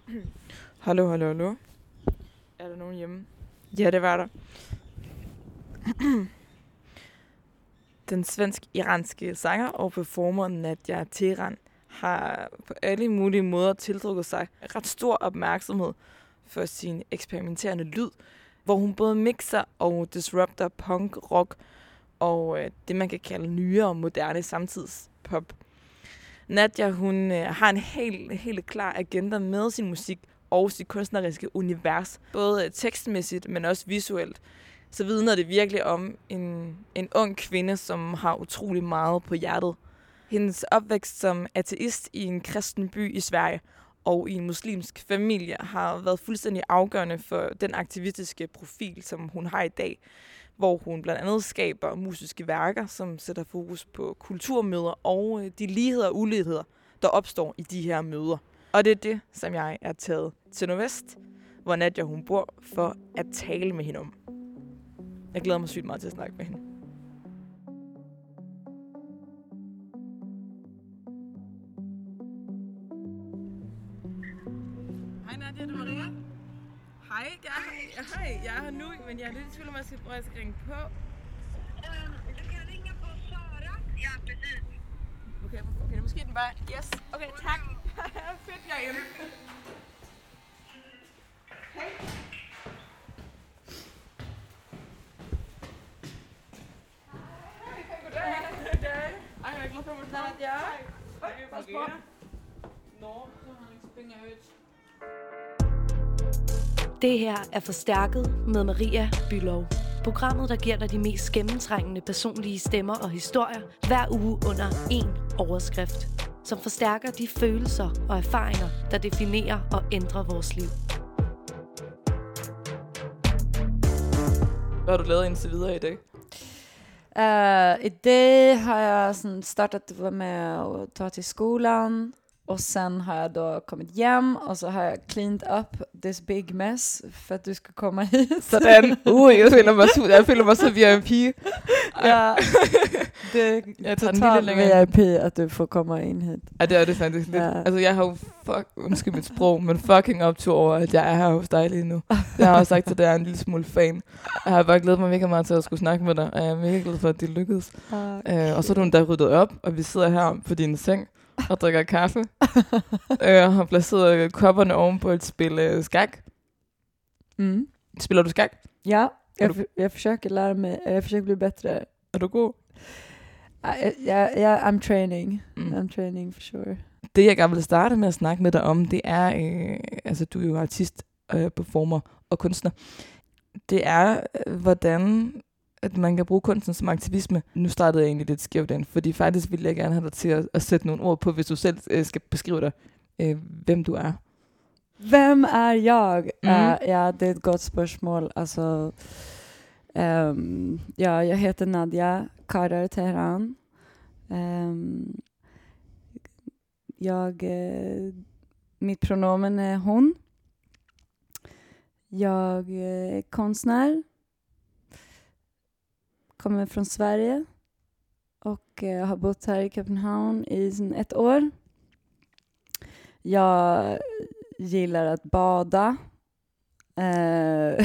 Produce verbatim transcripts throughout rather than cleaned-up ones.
Hallo, hallo, hallo. Er der nogen hjemme? Ja, det var der. Den svensk-iranske sanger og performer Nadia Teran har på alle mulige måder tiltrukket sig ret stor opmærksomhed for sin eksperimenterende lyd, hvor hun både mixer og disrupter punk, rock og øh, det, man kan kalde nyere og moderne samtidspop. Nadia, hun øh, har en helt, helt klar agenda med sin musik og sit kunstneriske univers, både tekstmæssigt, men også visuelt. Så vidner det virkelig om en, en ung kvinde, som har utrolig meget på hjertet. Hendes opvækst som ateist i en kristen by i Sverige og i en muslimsk familie har været fuldstændig afgørende for den aktivistiske profil, som hun har i dag, hvor hun blandt andet skaber musiske værker, som sætter fokus på kulturmøder og de ligheder og uligheder, der opstår i de her møder. Og det er det, som jeg er taget til Nordvest, hvor Nadia hun bor, for at tale med hende om. Jeg glæder mig sygt meget til at snakke med hende. Hej Nadia, det er Maria. Hej, jeg er, her, hej, jeg er her nu, men jeg er lidt i tvivl om, hvor jeg skal ringe på. Um, du kan ringe på Sara. Ja, precis. Okay, okay, måske den bare... Yes, okay, tak. Fedt, jeg er hjemme. Hej. Hej, goddag. Goddag. Ej, jeg er glad for, at du tager det. Ja. Hej, pas på. Nå, så har han ikke spændt jeg højt. Det her er Forstærket med Maria Bülow. Programmet, der giver dig de mest gennemtrængende personlige stemmer og historier hver uge under én overskrift, som forstærker de følelser og erfaringer, der definerer og ændrer vores liv. Hvad har du lavet indtil videre i dag? Uh, I dag har jag sådan startat med att ta till skolan. Och sen har jag då kommit hem och så har jag cleaned up this big mess för att du ska komma hit. Sådan. Uh, jeg føler mig så, jeg føler mig så V I P. Ja, det jeg är tager den totalt lille længere. V I P att du får komma in hit. Ja, det er det faktisk lidt. Ja. Altså, jeg har jo, fuck, undskyld mit sprog, men fucking optur over, at jeg er her hos dig lige nu. Jeg har også sagt til dig, at jeg er en lille smule fan. Jeg har bare glædet mig mega meget til at skulle snakke med dig, og jeg er mega glad for, at det lykkedes. Okay. Uh, og så er du endda ryddet op, og vi sidder her på din seng og drikker kaffe. Jeg uh, har placeret kopperne oven på et spil uh, skak. Mm. Spiller du skak? Ja, jag, du- för, jag försöker lära mig, jag försöker bli bättre. Er du god? Ja, ja, ja, I'm training. Mm. I'm training for sure. Det, jeg gerne vil starte med at snakke med dig om, det er, øh, altså du er jo artist, øh, performer og kunstner. Det er, øh, hvordan at man kan bruge kunsten som aktivisme. Nu startede jeg egentlig lidt skævt ind, fordi faktisk ville jeg gerne have dig til at, at sætte nogle ord på, hvis du selv øh, skal beskrive dig, øh, hvem du er. Vem är jag? Mm. Uh, ja, det är ett gott spörsmål. Alltså, um, ja, jag heter Nadia Karar Teheran. Um, jag, uh, mitt pronomen är hon. Jag är konstnär. Kommer från Sverige. Och uh, har bott här i Köpenhamn i sedan ett år. Jag gillar att bada. Uh,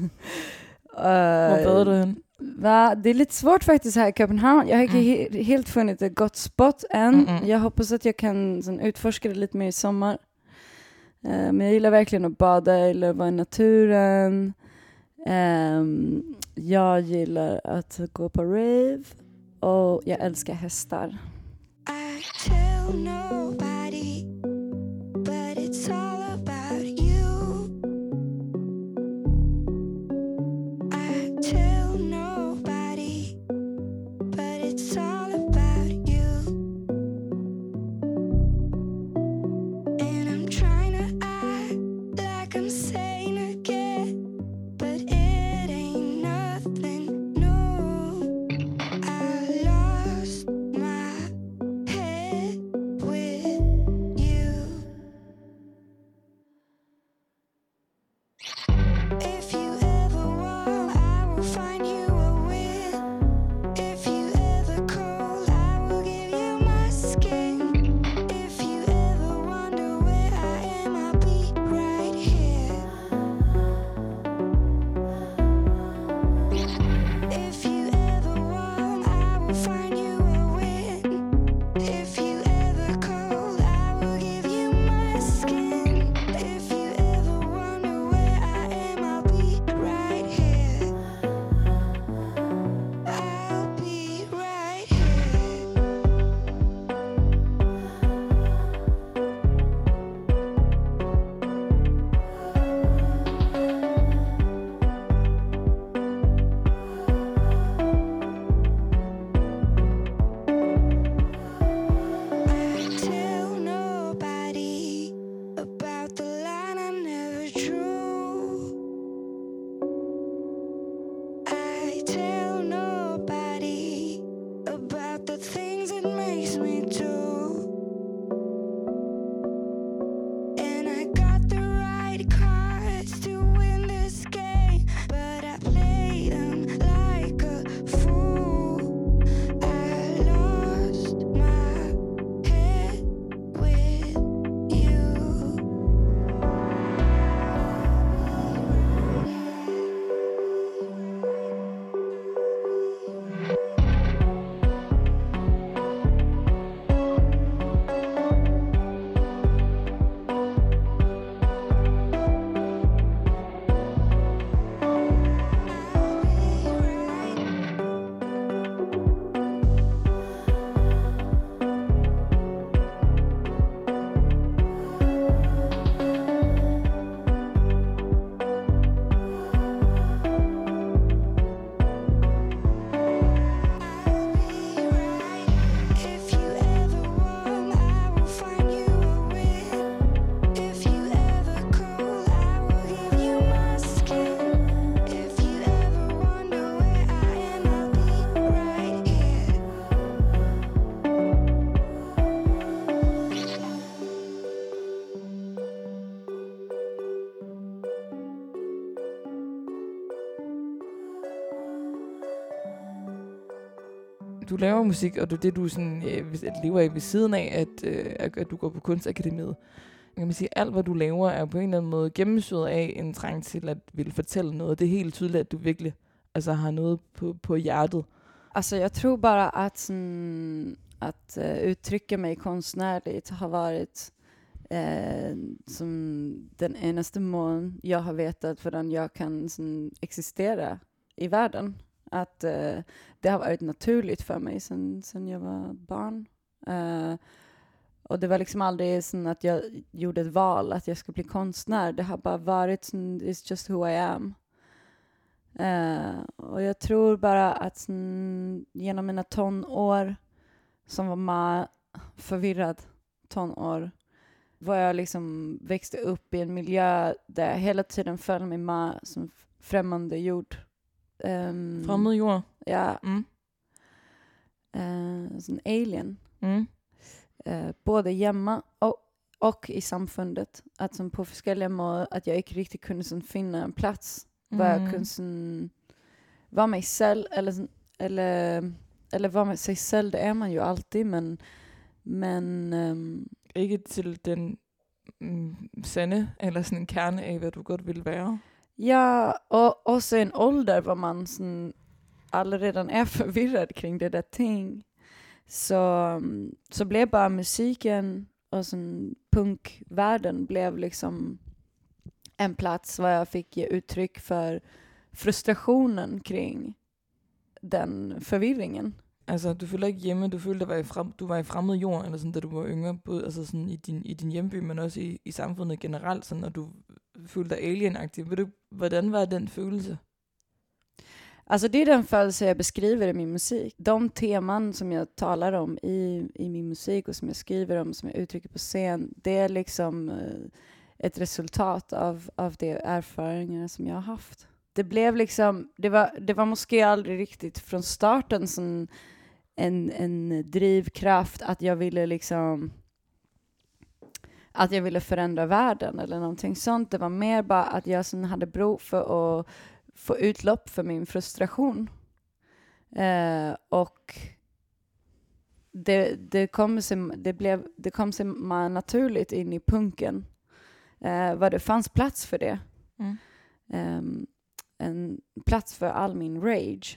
Hvor bader du hen? Va? Det är lite svårt faktiskt här i Köpenhamn. Jag har inte Mm. he- helt funnit ett gott spot än. Mm-mm. Jag hoppas att jag kan sån, utforska det lite mer i sommar. Uh, men jag gillar verkligen att bada. Jag gillar att vara i naturen. Um, jag gillar att gå på rave. Och jag älskar hästar. I tell nobody, but it's all about you. I tell nobody, but it's all about you. And I'm trying to act like I'm sane again, but it ain't nothing new. I lost my head with du laver musik, og det er det, du sådan, øh, lever af ved siden af, at, øh, at du går på kunstakademiet. Kan man sige, at alt, hvad du laver, er på en eller anden måde gennemsyret af en trang til at ville fortælle noget. Det er helt tydeligt, at du virkelig altså, har noget på, på hjertet. Alltså jag tror bara att, sån, att uh, uttrycka mig konstnärligt har varit uh, som den enaste mån jag har vetat för jag kan sån, existera i världen. Att uh, det har varit naturligt för mig sen, sen jag var barn. Uh, och det var liksom aldrig sån att jag gjorde ett val att jag ska bli konstnär. Det har bara varit sån, it's just who I am. Uh, och jag tror bara att sån, genom mina tonår som var med förvirrad tonår var jag liksom växte upp i en miljö där jag hela tiden föll mig med som främmande jord. Um, Främmande jord? Ja. Mm. Uh, sån alien. Mm. Uh, både hemma och, och i samfundet. Att som på olika måder att jag inte riktigt kunde som finna en plats var jag kunde som, vara mig själv eller, eller, eller vara med sig själv, det är man ju alltid, men, men um, ikke til den mm, sande eller sådan en kerne af, hvad du godt ville være. Ja, och också en ålder var man sån, alla redan är förvirrad kring det där ting. Så, så blev bara musiken och sån punkvärlden blev liksom en plats var jag fick ge uttryck för frustrationen kring den förvirringen. Altså, du følte ikke hjemme, du følte, at du var i, frem, du var i fremmed jord, eller sådan, da du var yngre, både altså sådan i din, i din hjemby, men også i, i samfundet generelt, sådan, og du følte dig alienagtig. Ved du, hvordan var den følelse? Alltså det är den følelse jag beskriver i min musik. De teman som jag talar om i, i min musik och som jag skriver om, som jag uttrycker på scen, det är liksom uh, ett resultat av, av de erfarenheter som jag har haft. Det blev liksom, det var, det var måske aldrig riktigt från starten som en, en drivkraft att jag ville liksom, att jag ville förändra världen eller någonting sånt. Det var mer bara att jag sen hade behov för att få utlopp för min frustration. Eh, och det, det kom sig, det blev, det kom sig naturligt in i punken. Eh, vad det fanns plats för det. Mm. Um, en plats för all min rage.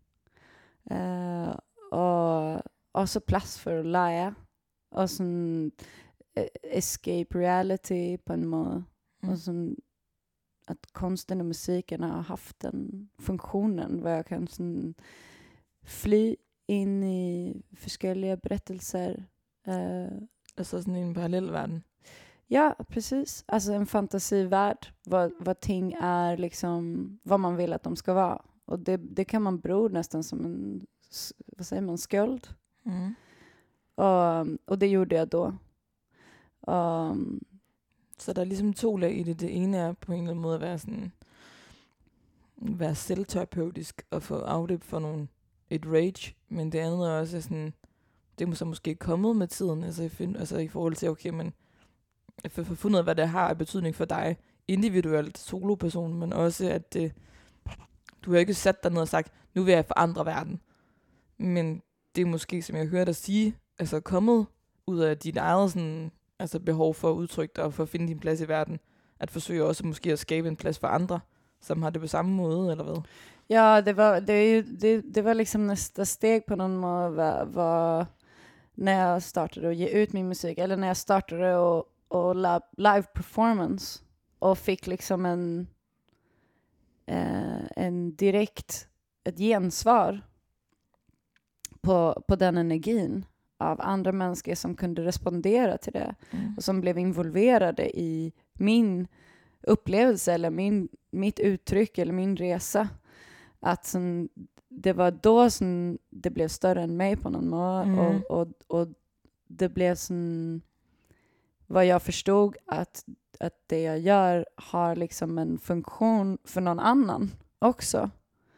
Uh, och också plats för att lära. Och sån uh, escape reality på en måte. Mm. Och sån att konsten och musiken har haft den funktionen var jag kan sån fly in i olika berättelser. Uh, Altså sådan en parallelverden. Ja, precis. Alltså en fantasivärld. Vad, vad ting är liksom, vad man vill att de ska vara. Och det, det kan man bero nästan som en, vad säger man, skuld. Mm. Och, og det gjorde jeg då. Og, Så der er ligesom to lag i det. Det ene er på en eller anden måde at være sådan, være selvterapeutisk og få afløb for nogle, et rage. Men det andet er også sådan, det er så måske kommet med tiden. Altså i, find, altså i forhold til, okay, men for at fundet ud af, hvad det har af betydning for dig, individuelt, soloperson, men også at det, du har ikke sat dig ned og sagt, nu vil jeg forandre verden. Men det er måske, som jeg hører dig sige, altså kommet ud af dit eget sådan, altså behov for at udtrykke dig og for at finde din plads i verden, at forsøge også måske at skabe en plads for andre, som har det på samme måde, eller hvad? ja, det var, det, det, det var liksom nästa steg på någon måde, var, var när jag startade att ge ut min musik, eller när jag startade och och live performance och fick liksom en eh, en direkt ett gensvar på på den energin av andra människor som kunde respondera till det Mm. och som blev involverade i min upplevelse eller min mitt uttryck eller min resa, att som, det var då som det blev större än mig på någon måte. Mm. och, och och det blev som vad jag förstod att, att det jag gör har liksom en funktion för någon annan också.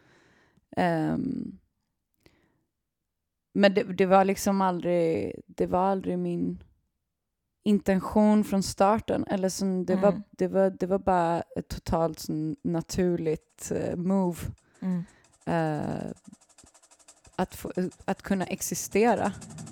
Um, men det, det var liksom aldrig, det var aldrig min intention från starten. Eller som det, Mm. var, det, var, det var bara ett totalt sån naturligt uh, move. Mm. Uh, att, få, att kunna existera.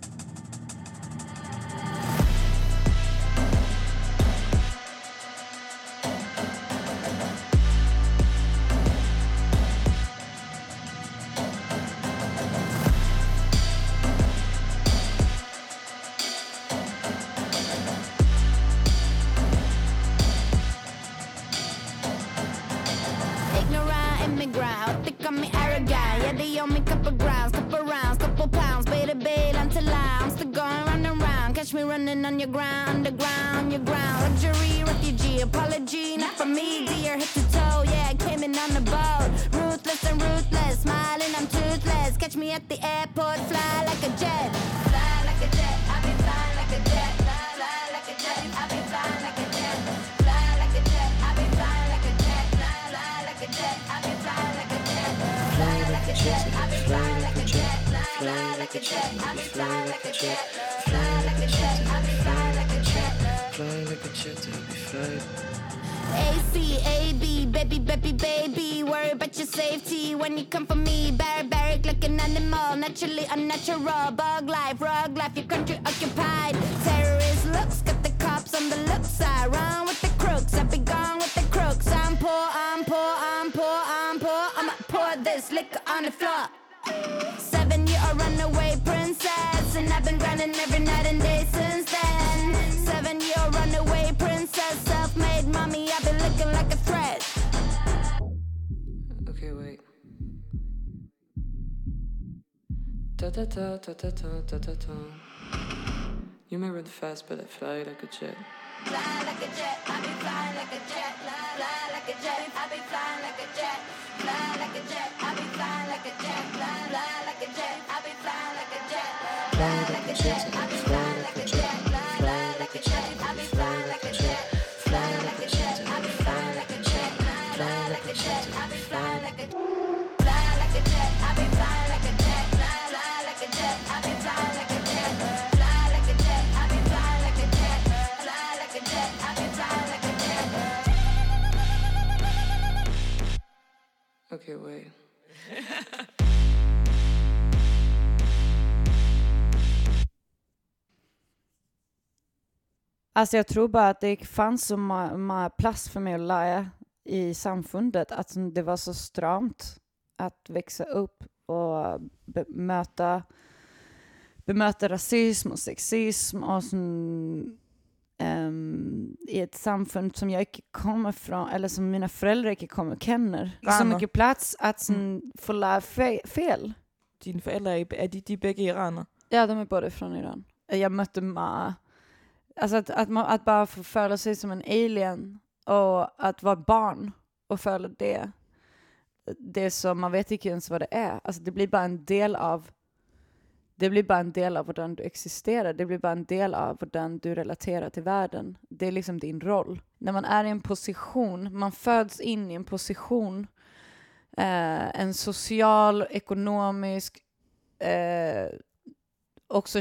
On your ground, underground, your ground. Luxury, refugee, apology, not for me, dear. Head to toe, yeah, I came in on the boat. Ruthless and ruthless, smiling, I'm toothless. Catch me at the airport, fly like a jet. Fly like a jet, I'll be flying like a jet. Fly, fly like a jet, I'll be flying like a jet. Fly like a jet, I'll be flying like a jet. Fly, fly like a jet, I'll be flying like a jet. Fly like a jet, I'll be flying like a jet. Fly, fly like a jet, I'll be flying like a jet. Fly like a jet, I'll be flying like a jet. Fly like a jet, I'll be flying. A C, A B, baby, baby, baby. Worry about your safety when you come for me. Barbaric like an animal, naturally unnatural. Bug life, rug life, your country occupied. Terrorist looks, got the cops on the look side. Run with the crooks, I'll be gone with the crooks. I'm poor, I'm poor, I'm poor, I'm poor. I'ma pour this liquor on the floor. Seven year old runaway princess, and I've been grinding every night and day since then. Seven year old runaway princess, self-made mommy, I've been looking like a threat. Okay, wait. Da da da da da da da da da. You may run fast, but I fly like a jet. Fly like a jet, I be flying like a jet. Fly, fly like a jet, I be flying like a jet. Fly like a jet, I be flying like a jet. Fly, fly like a jet, I be flying like a jet. Fly like a jet, I be flying like a jet. Fly, fly like a jet, I be flying like a jet. Fly like a jet, I be flying like a jet. Fly like a jet, I be flying like a fly like a jet, I be flying like a jet. Fly, fly like a jet, I be flying like a jet. Fly like a jet, I be flying like a jet. Fly like a jet, I be flying like a jet. Okay, wait. Alltså jag tror bara att det fanns så många plats för mig att lära i samfundet. Att det var så stramt att växa upp och bemöta, bemöta rasism och sexism och sån, um, i ett samfund som jag inte kommer från, eller som mina föräldrar inte kommer känner. Så mycket plats att sån, mm. få lära fe- fel. Dine forældre, er, er de, de begge iraner? Ja, de är båda från Iran. Jag mötte Ma. Alltså att, att, man, att bara få föra sig som en alien och att vara barn och föra det. Det som man vet inte ens vad det är. Alltså det blir bara en del av det blir bara en del av hur du existerar. Det blir bara en del av hur du relaterar till världen. Det är liksom din roll. När man är i en position, man föds in i en position, eh, en social, ekonomisk, eh, också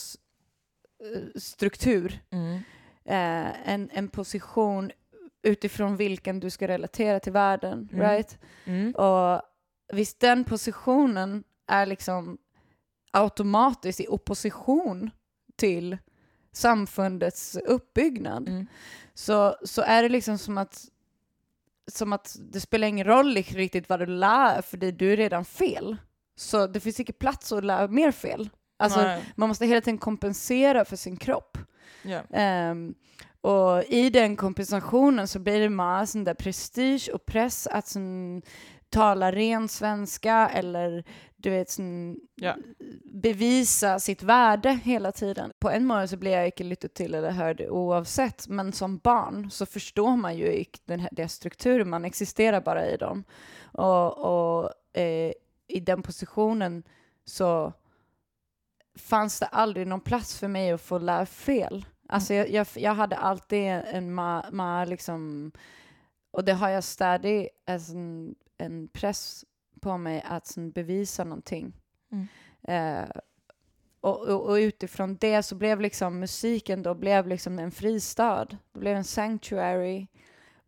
könsstruktur. Mm. Eh, en, en position utifrån vilken du ska relatera till världen, mm. right? Mm. Och visst den positionen är liksom automatiskt i opposition till samfundets uppbyggnad, mm. så, så är det liksom som att som att det spelar ingen roll riktigt vad du lär, för det du är redan fel. Så det finns inte plats att lära mer fel. Alltså Nej. Man måste hela tiden kompensera för sin kropp. Yeah. Um, och i den kompensationen så blir det med sån där prestige och press att sån, tala ren svenska eller du vet sån, yeah. bevisa sitt värde hela tiden. På en månad så blir jag inte lyttat till eller hörd oavsett, men som barn så förstår man ju inte den här, den strukturen, man existerar bara i dem. Och, och eh, i den positionen så fanns det aldrig någon plats för mig att få lära fel. Alltså jag, jag, jag hade alltid en ma, ma liksom, och det har jag stadigt en, en press på mig att sån, bevisa någonting. Mm. Eh, och, och, och utifrån det så blev liksom musiken då blev liksom en fristad. Det blev en sanctuary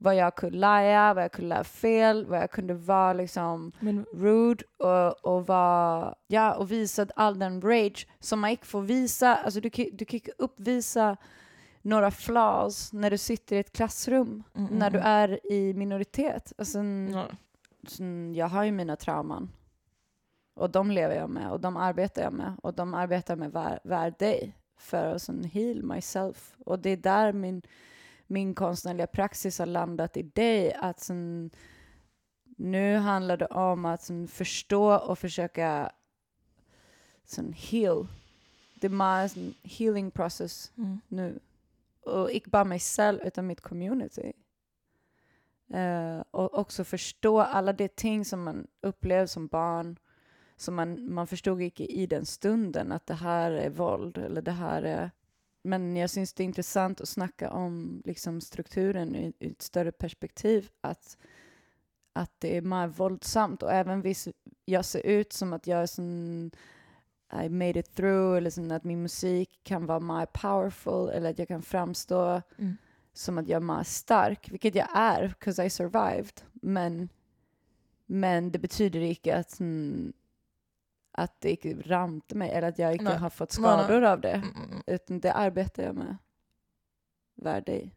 vad jag kunde lära, vad jag kunde lära fel, vad jag kunde vara liksom Men rude och, och vara, ja, och visa all den rage som man inte får visa. Alltså du kan du kan inte uppvisa några flaws när du sitter i ett klassrum, Mm, mm, när du mm. är i minoritet. Alltså, n- ja. så jag har ju mina trauman. Och de lever jag med, och de arbetar jag med. Och de arbetar med var, var dag för att sån, heal myself. Och det är där min, min konstnärliga praxis har landat i dig. Att sån, nu handlar det om att sån, förstå och försöka sån, heal. Det är en healing process Mm. nu. Och inte bara mig själv utan mitt community. Uh, och också förstå alla de ting som man upplevde som barn, som man, man förstod inte i den stunden att det här är våld eller det här är, men jag syns det är intressant att snacka om liksom strukturen i, i ett större perspektiv, att, att det är mer våldsamt, och även hvis jag ser ut som att jag är sån I made it through, eller som att min musik kan vara mer powerful, eller att jag kan framstå Mm. som att jag är mer stark, vilket jag är, because I survived. Men, men det betyder inte att, mm, att det inte ramte mig, eller att jag inte Nej. har fått Nej, nej. skador av det. Mm, mm, mm. Utan det arbetar jag med. Värde i.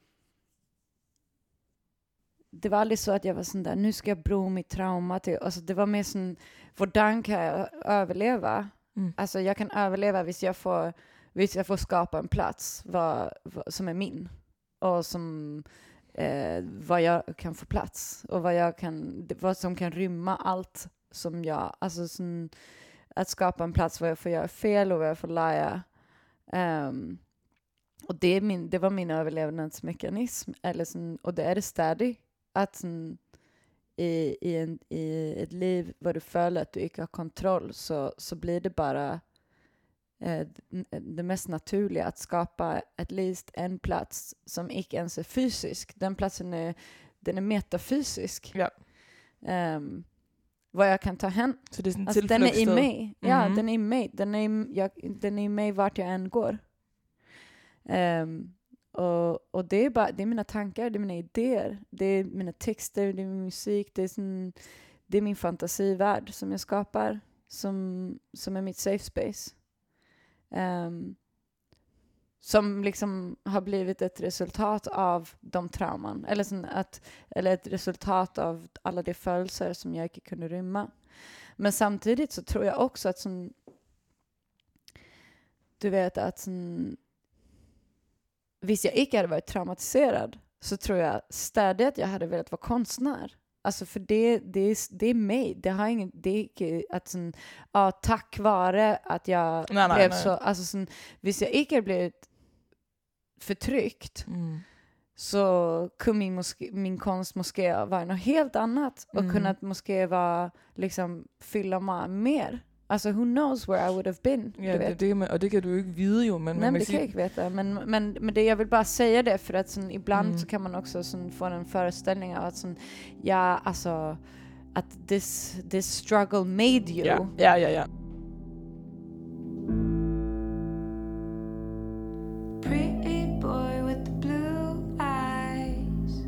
Det var aldrig så att jag var sån där, nu ska jag bro mitt trauma till. Alltså det var mer sån, hvordan kan jag överleva? Mm. Alltså jag kan överleva hvis jag får, hvis jag får skapa en plats vad, vad, som är min. Och som eh, vad jag kan få plats. Och vad, jag kan, vad som kan rymma allt som jag, alltså som, att skapa en plats där jag får göra fel och där jag får lära. Um, och det, är min, det var min överlevnadsmekanism. Eller som, och det är det stadig. Att som, i, i, en, i ett liv där du följer att du inte har kontroll, så, så blir det bara eh, det mest naturliga att skapa at least en plats som inte ens är fysisk. Den platsen är, den är metafysisk. Ja. Um, vad jag kan ta hem. Så det är sådan en Alltså, den är i tilflugtssted. mig. Ja, Mhm. den är i mig. Den är i, jag, den är i mig vart jag än går. Um, och, och det är bara, det är mina tankar, det är mina idéer, det är mina texter, det är min musik, det är, sån, det är min fantasivärld som jag skapar, som, som är mitt safe space. Um, som liksom har blivit ett resultat av de trauman, eller, sån att, eller ett resultat av alla de födelser som jag inte kunde rymma. Men samtidigt så tror jag också att sån, du vet att sån, hvis jag inte hade varit traumatiserad, så tror jag stadigt att jag hade velat vara konstnär. Alltså för det, det, är, det är mig. Det har ingen, det är inte att sån, ja, tack vare att jag Nej, nej, blev nej. så, alltså sån, hvis jag inte hade blivit förtryckt, Mm. så kunde min, moské, min konst moské vara något helt annat, och Mm. kunnat moské vara liksom fylla mig mer. Alltså who knows where I would have been. Ja, du det, vet. det, kan man- och det kan du ju inte vide jo, men Nej, man men kan det kan jag sige, inte veta. Men, men, men det, jag vill bara säga det, för att sån, ibland Mm. så kan man också sån, få en föreställning av att sån, ja, alltså att this, this struggle made you. ja, ja, ja, ja. Pretty boy with the blue eyes,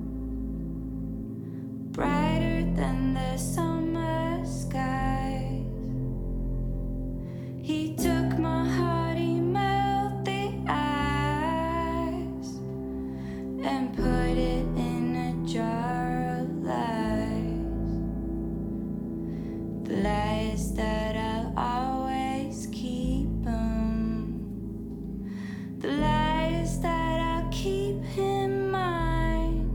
brighter than the summer skies. He took my heart, he melted ice, and put it in a jar of lies. The lies that I'll always keep 'em. The lies that I'll keep in mind.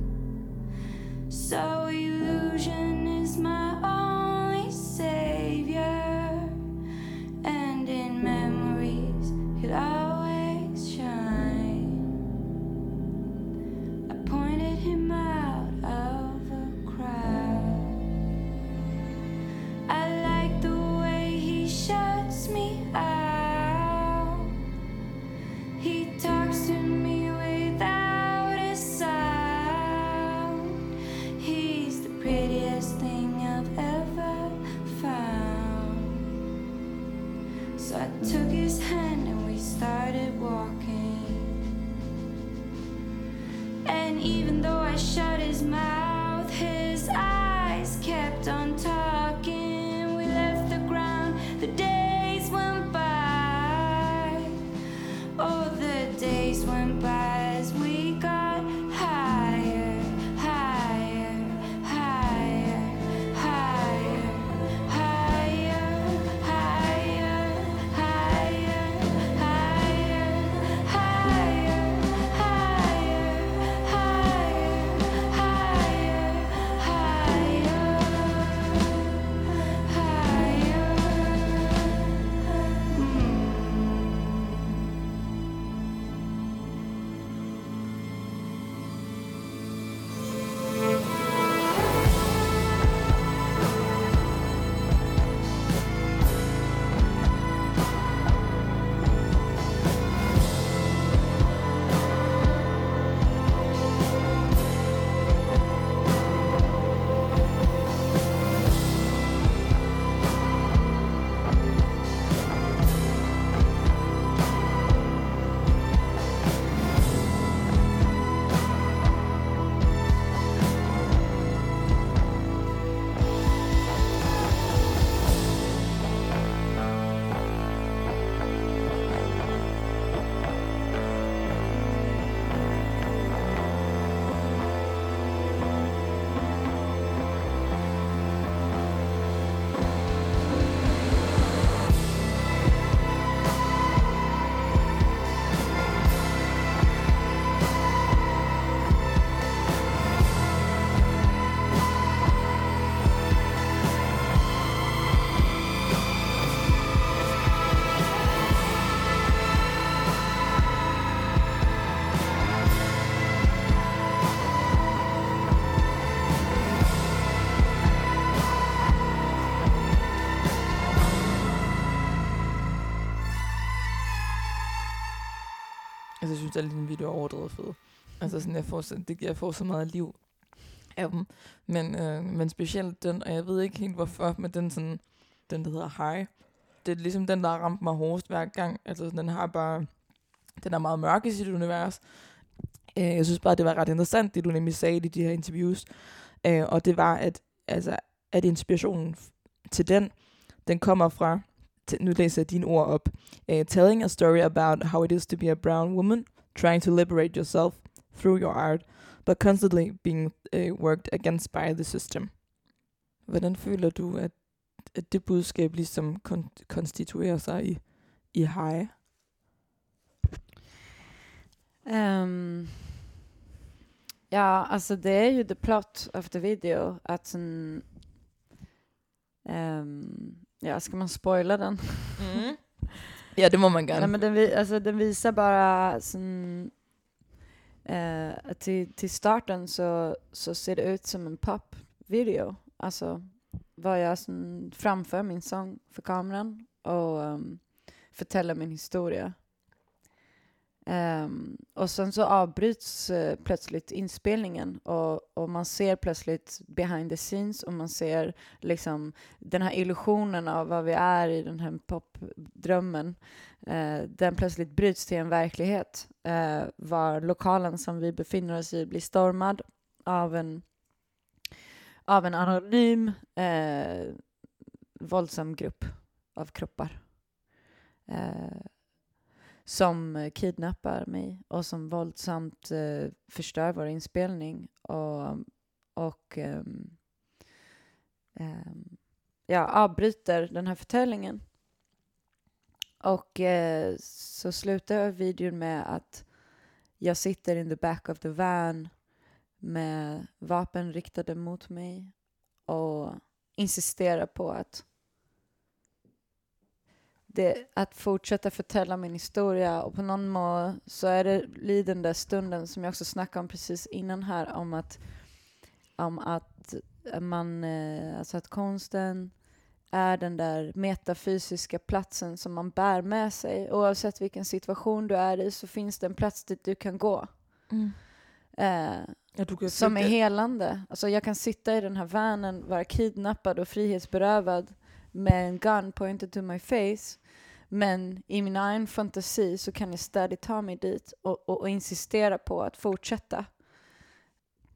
So illusion is my only savior, and in memories he'll always shine. I pointed him out of a crowd. I like the way he shuts me out. He talks to me without a sound. He's the prettiest thing I've ever found. So I took his hand and we started walking. And even though I shut his mouth, his eyes kept on talking. We left the ground, the days went by. Oh, the days went by as we got higher, higher, higher, higher, higher, higher, higher, higher, higher, higher, higher, higher, higher, higher. Altså, jeg synes, at din video er overdrevet fed. Altså, sådan, jeg får, så, det, jeg får så meget liv af dem. Men, øh, men specielt den, og jeg ved ikke helt hvorfor, men den, sådan, den der hedder High, det er ligesom den, der har ramt mig hårdest hver gang. Altså, sådan, den har bare, den er meget mørk i sit univers. Øh, jeg synes bare, det var ret interessant, det du nemlig sagde i de her interviews. Øh, og det var, at, altså, at inspirationen til den, den kommer fra, nu læser jeg dine ord op, uh, telling a story about how it is to be a brown woman, trying to liberate yourself through your art, but constantly being uh, worked against by the system. Hvordan føler du, at, at det budskab ligesom kon- konstituerer sig i, i High? Um, ja, alltså det är ju the plot of the video. Att sån, um, ja, ska man spoila den? Mm. Ja, det må man gerne. Nej, men den, vi, alltså, den visar bara sån, uh, att till, till starten så, så ser det ut som en popvideo. Alltså vad jag sån, framför min sång för kameran och um, förtäller min historia. Um, och sen så avbryts uh, plötsligt inspelningen och, och man ser plötsligt behind the scenes och man ser liksom den här illusionen av vad vi är i den här popdrömmen. Uh, den plötsligt bryts till en verklighet. Uh, var lokalen som vi befinner oss i blir stormad av en, av en anonym uh, våldsam grupp av kroppar. Uh, som kidnappar mig och som våldsamt eh, förstör vår inspelning och, och um, um, ja, avbryter den här förtällningen. Och eh, så slutar videon med att jag sitter in the back of the van med vapen riktade mot mig och insisterar på att Det, att fortsätta förtälla min historia, och på någon måte så är det i den där stunden som jag också snackade om precis innan här, om att om att man alltså att konsten är den där metafysiska platsen som man bär med sig. Oavsett vilken situation du är i så finns det en plats dit du kan gå. Mm. Eh, ja, du kan som är det. helande. Alltså jag kan sitta i den här vanen, vara kidnappad och frihetsberövad med en gun pointed to my face. Men i min egen fantasi så kan jag stadigt ta mig dit och, och, och insistera på att fortsätta.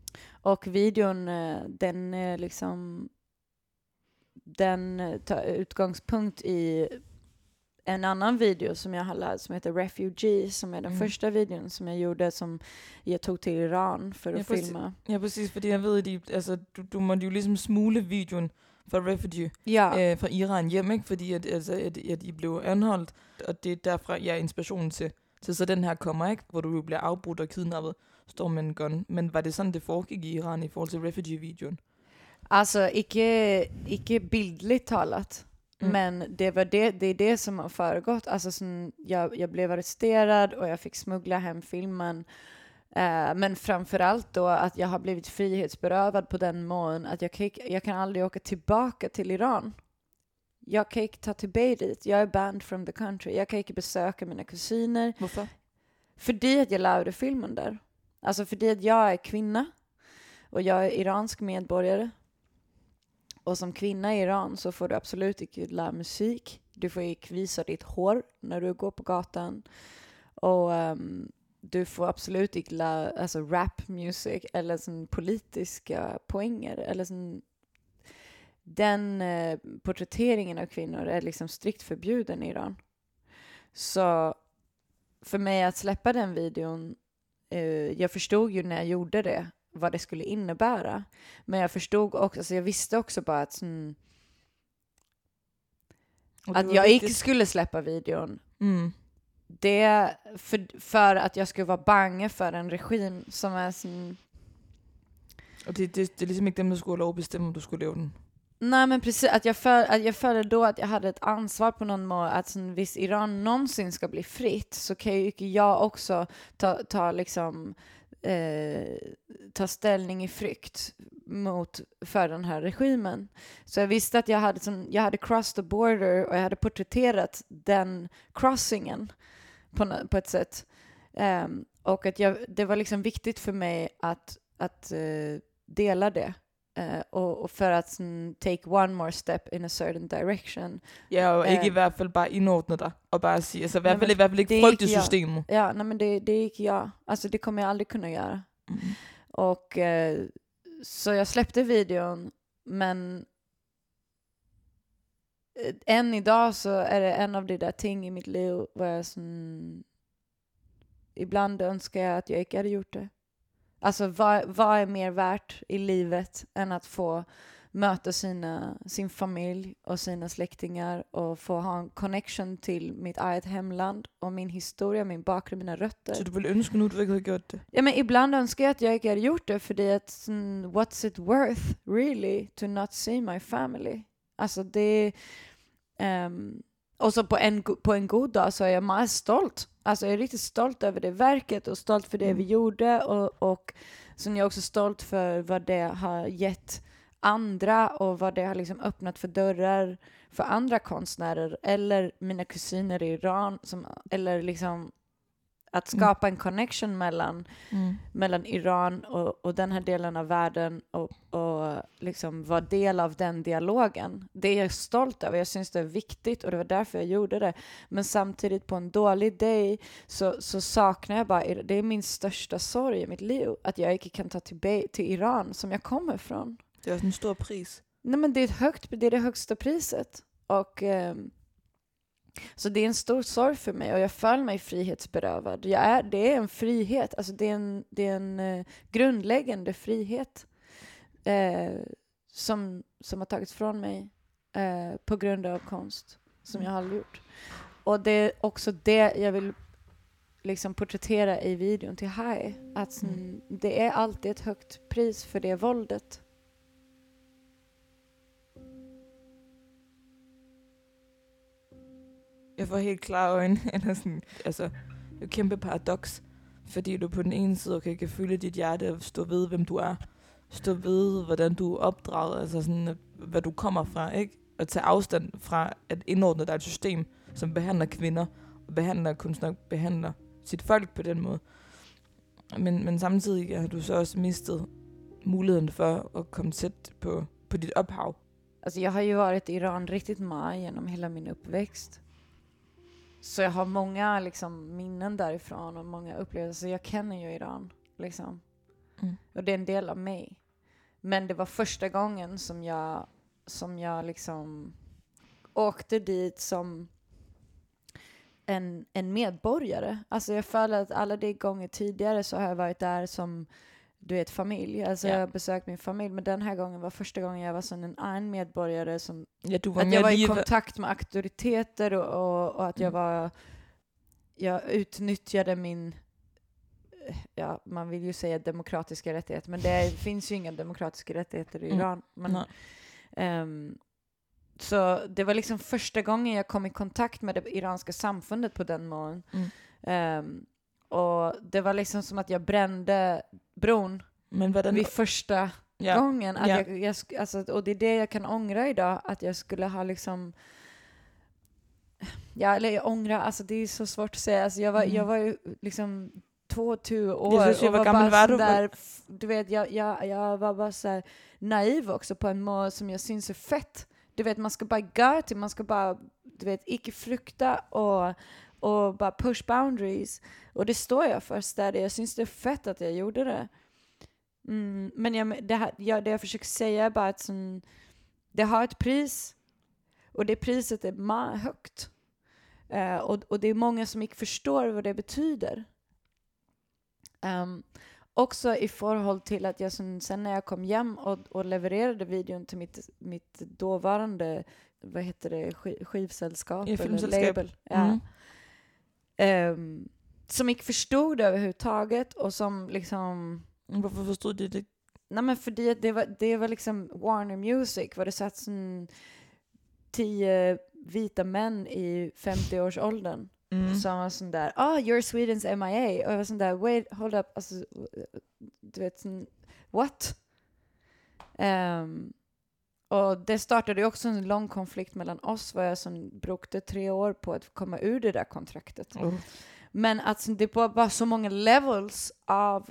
Och videon, eh, den är liksom, den eh, tar utgångspunkt i en annan video som jag har lagt som heter Refugee, som är den Mm. första videon som jag gjorde som jag tog till Iran för att Ja, præcis. filma. Ja, præcis, fordi jeg ved, at de, altså, du, du måtte jo ligesom smule videoen fra Refugee Ja, øh, fra Iran hjem, ikke? Fordi at, altså, at, at de blev anholdt, og det er derfra, jeg er inspirationen til. Så, så den her kommer, ikke? Hvor du bliver afbrudt og kidnappet, står med en gun. Men var det sådan, det foregik i Iran i forhold til Refugee-videoen? alltså icke, icke bildligt talat. Mm. Men det, var det, det är det som har föregått. Alltså, sån, jag, jag blev arresterad och jag fick smuggla hem filmen. Eh, men framförallt då att jag har blivit frihetsberövad på den mån att jag kan, jag kan aldrig åka tillbaka till Iran. Jag kan inte ta tillbaka dit. Jag är banned from the country. Jag kan inte besöka mina kusiner. Hvorfor? Fordi att jag lärde filmen där. Alltså fordi att jag är kvinna. Och jag är iransk medborgare. Och som kvinna i Iran så får du absolut inte lära musik. Du får inte visa ditt hår när du går på gatan. Och um, du får absolut inte lära alltså, rap music eller sån politiska poänger. Eller sån, den uh, porträtteringen av kvinnor är liksom strikt förbjuden i Iran. Så för mig att släppa den videon, uh, jag förstod ju när jag gjorde det vad det skulle innebära. Men jag förstod också, alltså jag visste också bara att, mm, att jag inte skulle släppa videon. Mm. Det för, för att jag skulle vara bange för en regim som är sån... Og det, det, det er ligesom ikke dem, der skulle have lov at bestemme, om du skulle lave den. Nej, men precis, att jag, för, att jag följde då att jag hade ett ansvar på någon mån att sån, hvis Iran någonsin ska bli fritt så kan ju inte jag också ta, ta liksom eh, ta ställning i frykt mot för den här regimen. Så jag visste att jag hade sån, jag hade crossed the border och jag hade porträtterat den crossingen på, på ett sätt. Um, och att jag, det var liksom viktigt för mig att, att uh, dela det. Uh, og, og for at sådan, take one more step in a certain direction. Ja, og ikke Øh. i hvert fald bare indordne dig, og bare sige, altså i hvert Nej, fald, men i hvert fald ikke det er frygte ikke jeg. systemet. Ja, nej, men det, det är inte jag. Alltså det kommer jag aldrig kunna göra. Mm. Och eh, så jag släppte videon, men eh, än idag så är det en av de där ting i mitt liv var jag sån, ibland önskar jag att jag inte hade gjort det. Alltså vad, vad är mer värt i livet än att få möta sina, sin familj och sina släktingar och få ha en connection till mitt eget hemland och min historia, min bakgrund, mina rötter. Så du ville ønske nu, du ikke havde gjort det? Ja, men ibland önskar jag att jag inte hade gjort det för det att mm, what's it worth really to not see my family? Alltså det um, och så på en, go- på en god dag så är jag mest stolt. Alltså jag är riktigt stolt över det verket och stolt för det Mm. vi gjorde och, och så är jag också stolt för vad det har gett andra och vad det har liksom öppnat för dörrar för andra konstnärer eller mina kusiner i Iran som, eller liksom att skapa en connection mellan, Mm. mellan Iran och, och den här delen av världen och, och liksom vara del av den dialogen. Det är jag stolt över. Jag syns det är viktigt och det var därför jag gjorde det. Men samtidigt på en dålig dag så, så saknar jag bara, det är min största sorg i mitt liv att jag inte kan ta till, till Iran som jag kommer från. Det er også en stor pris. Nej, men det är, ett högt, det är det högsta priset. Och ehm, så det är en stor sorg för mig och jag följer mig frihetsberövad. Jag är, det är en frihet, alltså det är en, det är en eh, grundläggande frihet eh, som, som har tagits från mig eh, på grund av konst som jag har gjort. Och det är också det jag vill liksom porträttera i videon till Hai. Att mm, det är alltid ett högt pris för det våldet. Jeg får helt klare øjne. Eller sådan, altså, det er et kæmpe paradoks. Fordi du på den ene side okay, kan føle dit hjerte og stå ved, hvem du er. Stå ved, hvordan du er opdraget. Altså sådan, hvad du kommer fra, ikke? Og tage afstand fra at indordne dig et system, som behandler kvinder. Og behandler kunstnere, behandler sit folk på den måde. Men, men samtidig har du så også mistet muligheden for at komme tæt på, på dit ophav. Alltså jag har ju varit i Iran riktigt mycket genom hela min uppväxt. Så jag har många liksom, minnen därifrån och många upplevelser. Jag känner ju Iran. Liksom. Mm. Och det är en del av mig. Men det var första gången som jag, som jag liksom åkte dit som en, en medborgare. Alltså jag följer att alla de gånger tidigare så har jag varit där som, du vet, familj. Alltså Ja. jag har besökt min familj, men den här gången var första gången jag var som en annan medborgare som Ja, du var att jag var i liv- kontakt med auktoriteter och, och, och att jag Mm. var jag utnyttjade min, ja, man vill ju säga demokratiska rättigheter, men det finns ju inga demokratiska rättigheter i Mm. Iran. Men, Nej. ehm, så det var liksom första gången jag kom i kontakt med det iranska samfundet på den mån. Mm. Ehm, och det var liksom som att jag brände bron Men hvordan... vid första Ja. gången. Att Ja. jag, jag, sk- alltså, och det är det jag kan ångra idag, att jag skulle ha liksom, ja, eller jag ångrar, alltså det är så svårt att säga. Alltså jag var, Mm. jag var ju liksom tvåtio år Jag syns ju, och vad var gammal bara var sån du? där, f- du vet, jag, jag, jag var bara så här naiv också på en mål som jag syns är fett. Du vet, man ska bara gå till, man ska bara, du vet, icke frukta och, och bara push boundaries. Och det står jag för där. Jag syns det är fett att jag gjorde det. Mm, men jag, det, här, jag, det jag försöker säga är bara att som, det har ett pris. Och det priset är ma- högt. Uh, och, och det är många som inte förstår vad det betyder. Um, också i förhåll till att jag som, sen när jag kom hem och, och levererade videon till mitt, mitt dåvarande, vad heter det, sk- skivsällskap Ja, eller filmsällskap. label. Ja. Um, som inte förstod det överhuvudtaget och som liksom, Hvorfor forstod de det? nej men för det, det, var, det var liksom Warner Music, var det satt som tio vita män i femtio-årsåldern. Mm. Som var sån där, ah, oh, you're Sweden's M I A. Och jag var sån där, wait, hold up, alltså, du vet, sån, what? Um, och det startade ju också en lång konflikt mellan oss, var jag som brukade tre år på att komma ur det där kontraktet. Oh. Men att det var bara så många levels av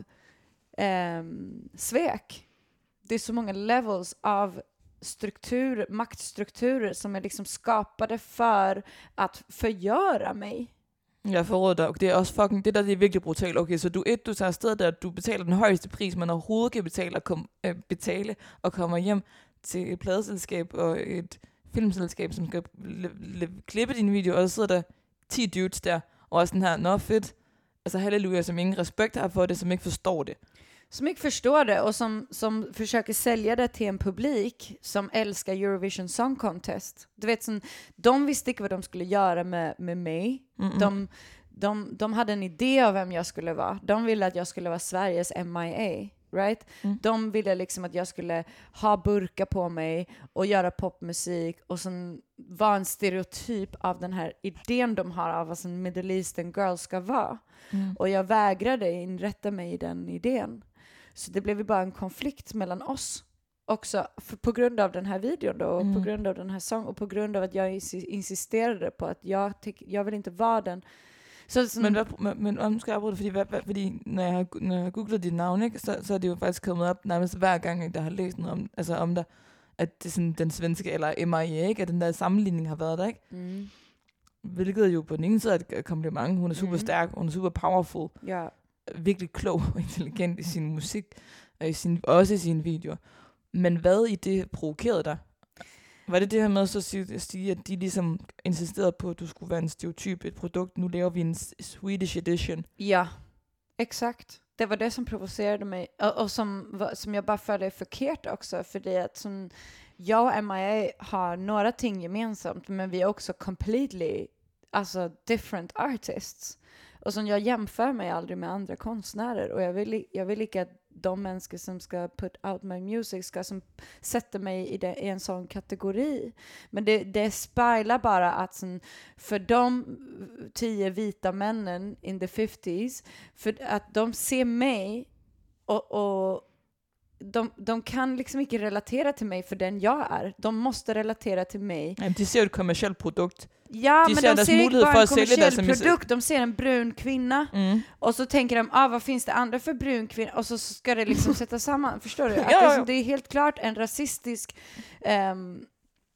um, svek. Det är så många levels av struktur, maktstrukturer som är liksom skapade för att förgöra mig. Jeg forråder dig, og det er også fucking, det der det er virkelig brutalt. Okay, så du et, du tager afsted der, du betaler den højeste pris, man overhovedet kan betale og, kom, øh, betale, og kommer hjem til et pladeselskab og et filmselskab, som skal le- le- klippe din video, og så sidder der ti dudes der, og er sådan her, nå fedt, altså halleluja, som ingen respekt har for det, som ikke forstår det. Som inte förstår det och som, som försöker sälja det till en publik som älskar Eurovision Song Contest. Du vet, som, de visste inte vad de skulle göra med, med mig. Mm-mm. De, de, de hade en idé av vem jag skulle vara. De ville att jag skulle vara Sveriges M I A. Right? Mm. De ville liksom att jag skulle ha burka på mig och göra popmusik och sen vara en stereotyp av den här idén de har av vad en Middle Eastern girl ska vara. Mm. Och jag vägrade inrätta mig i den idén. Så det blev ju bara en konflikt mellan oss också för, på grund av den här videon då, och Mm. på grund av den här sången och på grund av att jag insi- insisterade på att jag, tyck, jag vill inte vara den. Så, så, Men, hvad, men, men om nu skal jeg afbryde det, fordi, hvad, hvad, fordi når, jeg har, når jeg har googlet dit navn, ikke, så, så er det jo faktisk kommet op nærmest hver gang, jeg har læst noget om, altså om dig, at det er sådan den svenske, eller M I A, ikke, at den der sammenligning har været der, ikke? mm, Hvilket jo på den ene side er et kompliment. Hun er super Mhm. stærk, hun er super powerful, ja. virkelig klog og intelligent i sin musik, og i sin, også i sine videoer. Men hvad i det provokerede dig? Var det det her med så at sige, at sige, at de ligesom insisterede på, at du skulle være en stereotyp, et produkt, nu laver vi en s- Swedish edition? Ja, exakt. Det var det som provocerade mig och, och som, var- som jag bara följde förkert också, för det att som jag och M I A har några ting gemensamt, men vi är också completely, alltså different artists. Och som jag jämför mig aldrig med andra konstnärer, och jag vill, i- jag vill inte att de människor som ska put out my music ska som sätta mig i, det, i en sån kategori. Men det, det speglar bara att som, för de tio vita männen in the fifties, för att de ser mig och, och de, de kan liksom inte relatera till mig för den jag är. De måste relatera till mig. Jamen, de ser jo et kommercielt produkt. Ja, De men ser de deres ser inte mulighed bara for en at sælge deres kommersiell produkt. De ser en brun kvinna. Mm. Och så tänker de, ah, vad finns det andra för brun kvinna? Och så ska det liksom sätta samman, förstår du? Att Ja, det, ja, är ja. som- det är helt klart en rasistisk ehm,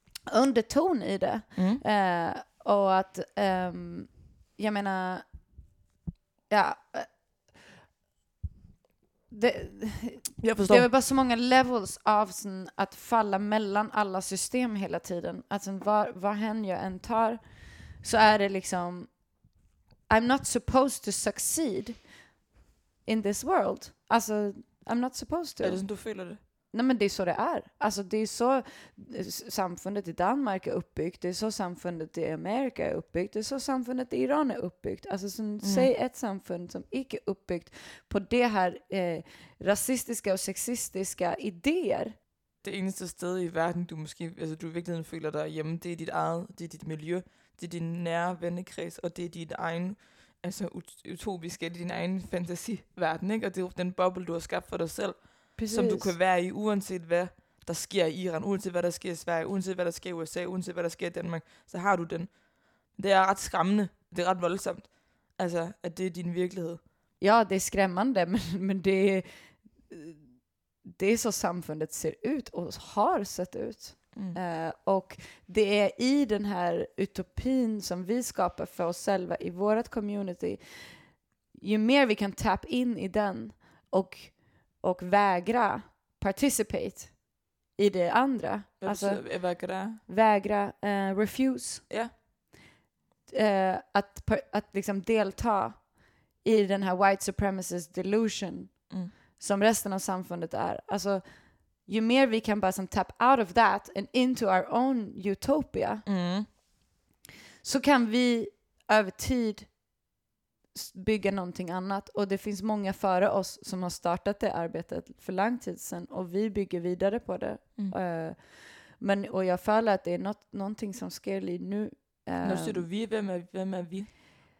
underton i det. Mm. Eh, och att, ehm, jag menar, ja, eh, det, Jag förstår. det är bara så många levels av sån, att falla mellan alla system hela tiden. Alltså var, var hen jag än tar så är det liksom I'm not supposed to succeed in this world. Alltså I'm not supposed to. Är det som du føler det? Nej, men det är så det är. Alltså det är så samfundet i Danmark är uppbyggt. Det är så samfundet i Amerika är uppbyggt. Det är så samfundet i Iran är uppbyggt. Alltså som, mm. säg ett samfund som inte är uppbyggt på det här eh, rasistiska och sexistiska idéer. Det eneste sted i verden, du måske, altså du i virkeligheden føler dig hjemme, det er dit eget, det er dit miljø, det er din nære vennekreds, og det er dit egen, altså ut- utopiske, det er din egen fantasiverden, ikke? Og det er jo den boble, du har skabt for dig selv. Precis. Som du kan være i, uanset hvad der sker i Iran, uanset hvad der sker i Sverige, uanset hvad der sker i U S A, uanset hvad der sker i Danmark, så har du den. Det er ret skræmmende, det er ret voldsomt, altså at det er din virkelighed. Ja, det är skrämmande, men, men det, det är så samfundet ser ut och har sett ut. Mm. Uh, och det är i den här utopin som vi skapar för oss själva i vårt community, ju mer vi kan tap in i den och och vägra participate i det andra. Vad alltså, vägra? Vägra, uh, refuse. Ja. Uh, att, att liksom delta i den här white supremacist delusion mm. som resten av samfundet är. Alltså, ju mer vi kan bara som tap out of that and into our own utopia mm. så kan vi över tid bygga någonting annat. Och det finns många före oss som har startat det arbetet för lång tid sedan. Och vi bygger vidare på det. Mm. Uh, men, och jag följer att det är något, någonting som sker lige nu. Uh, När säger du vi? Vem är, vem är vi?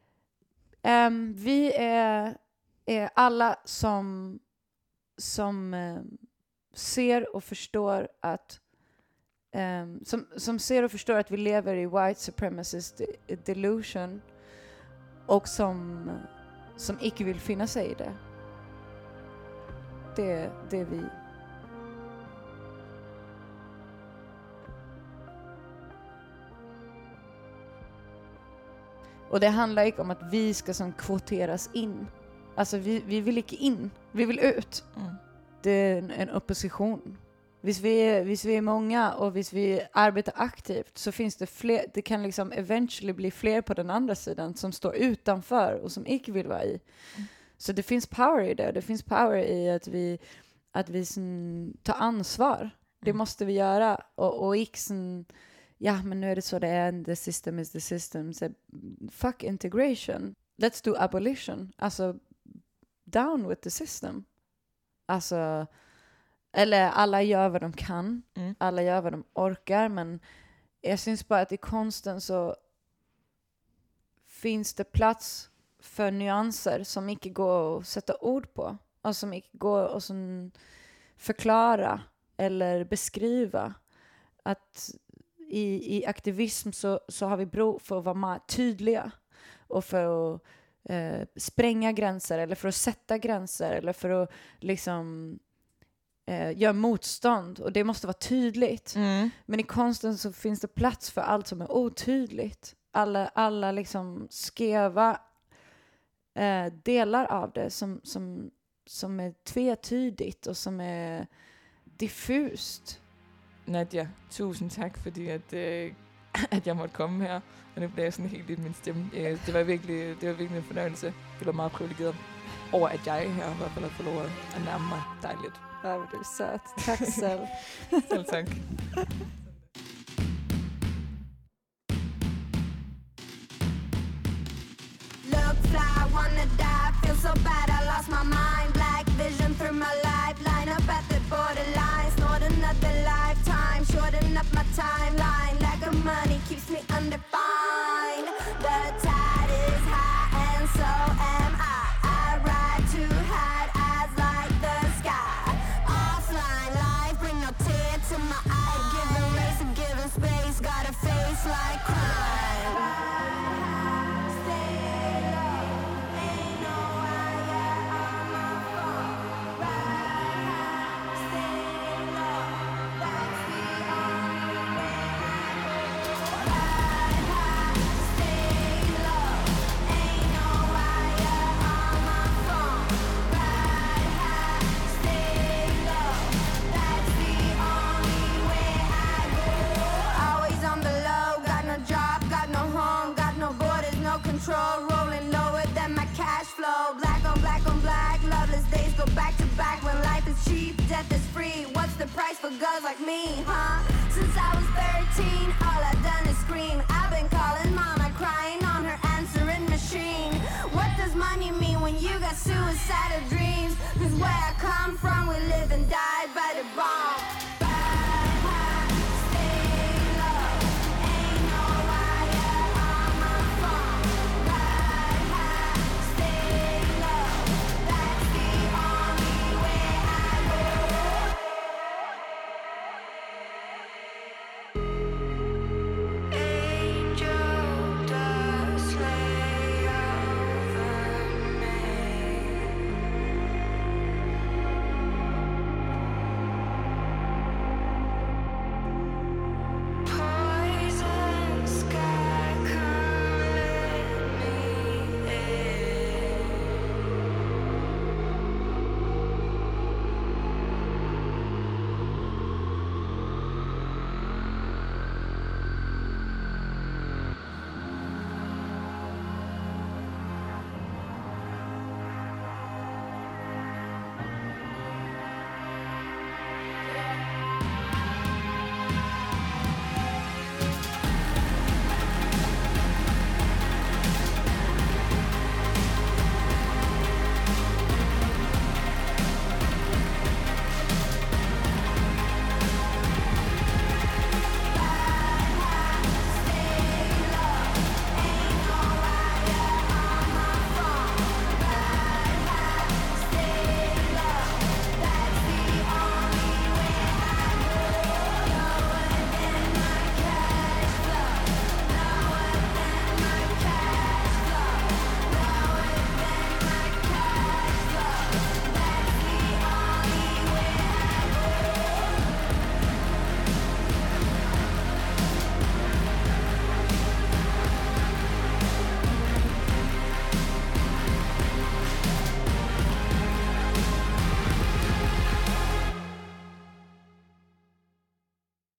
Um, vi är, är alla som, som um, ser och förstår att um, som, som ser och förstår att vi lever i white supremacist delusion. Och som, som icke vill finna sig i det. Det, det är vi. Och det handlar inte om att vi ska som kvoteras in. Alltså vi, vi vill inte in. Vi vill ut. Mm. Det är en, en opposition. Hvis vi, är, hvis vi är många och hvis vi arbetar aktivt så finns det fler, det kan liksom eventually bli fler på den andra sidan som står utanför och som inte vill vara i. Mm. Så det finns power i det. Det finns power i att vi, att vi sån, tar ansvar. Mm. Det måste vi göra. Och, och inte sån, ja men nu är det så det är, the system is the system. Så fuck integration. Let's do abolition. Alltså down with the system. Alltså eller alla gör vad de kan. Mm. Alla gör vad de orkar. Men jag syns bara att i konsten så finns det plats för nyanser som inte går att sätta ord på. Och som inte går att förklara eller beskriva. Att i, i aktivism så, så har vi bruk för att vara mer tydliga. Och för att eh, spränga gränser. Eller för att sätta gränser. Eller för att liksom Eh, gör motstånd och det måste vara tydligt. Mm. Men i konsten så finns det plats för allt som är otydligt. Alla, alla liksom skeva eh, delar av det som, som, som är tvetydigt och som är diffust. Nadia, tusind tak fordi at, øh, at jeg måtte komme her. Og nu bliver jeg sådan helt lidt min stemme. Øh, det var virkelig, det var virkelig en fornøjelse. Det var meget privilegeret over, at jeg her i hvert fald har fået lov at nærme mig dig lidt. Ja, du är söt. Tack själv. Själv tack. Look fly, wanna die, feel so bad I lost my mind. Black vision through my life, line up at the borderline. Snort another lifetime, shorten up my timeline. Lack of money keeps me undefined. The tide is high and so am I. I ride too high, eyes like the sky. Offline life, bring no tear to my eye. Giving race and giving space, got a face like crime. Stay low, ain't no higher on price for girls like me, huh? Since I was thirteen, all I've done is scream. I've been calling mama, crying on her answering machine. What does money mean when you got suicidal dreams? Cause where I come from, we live and die by the bomb.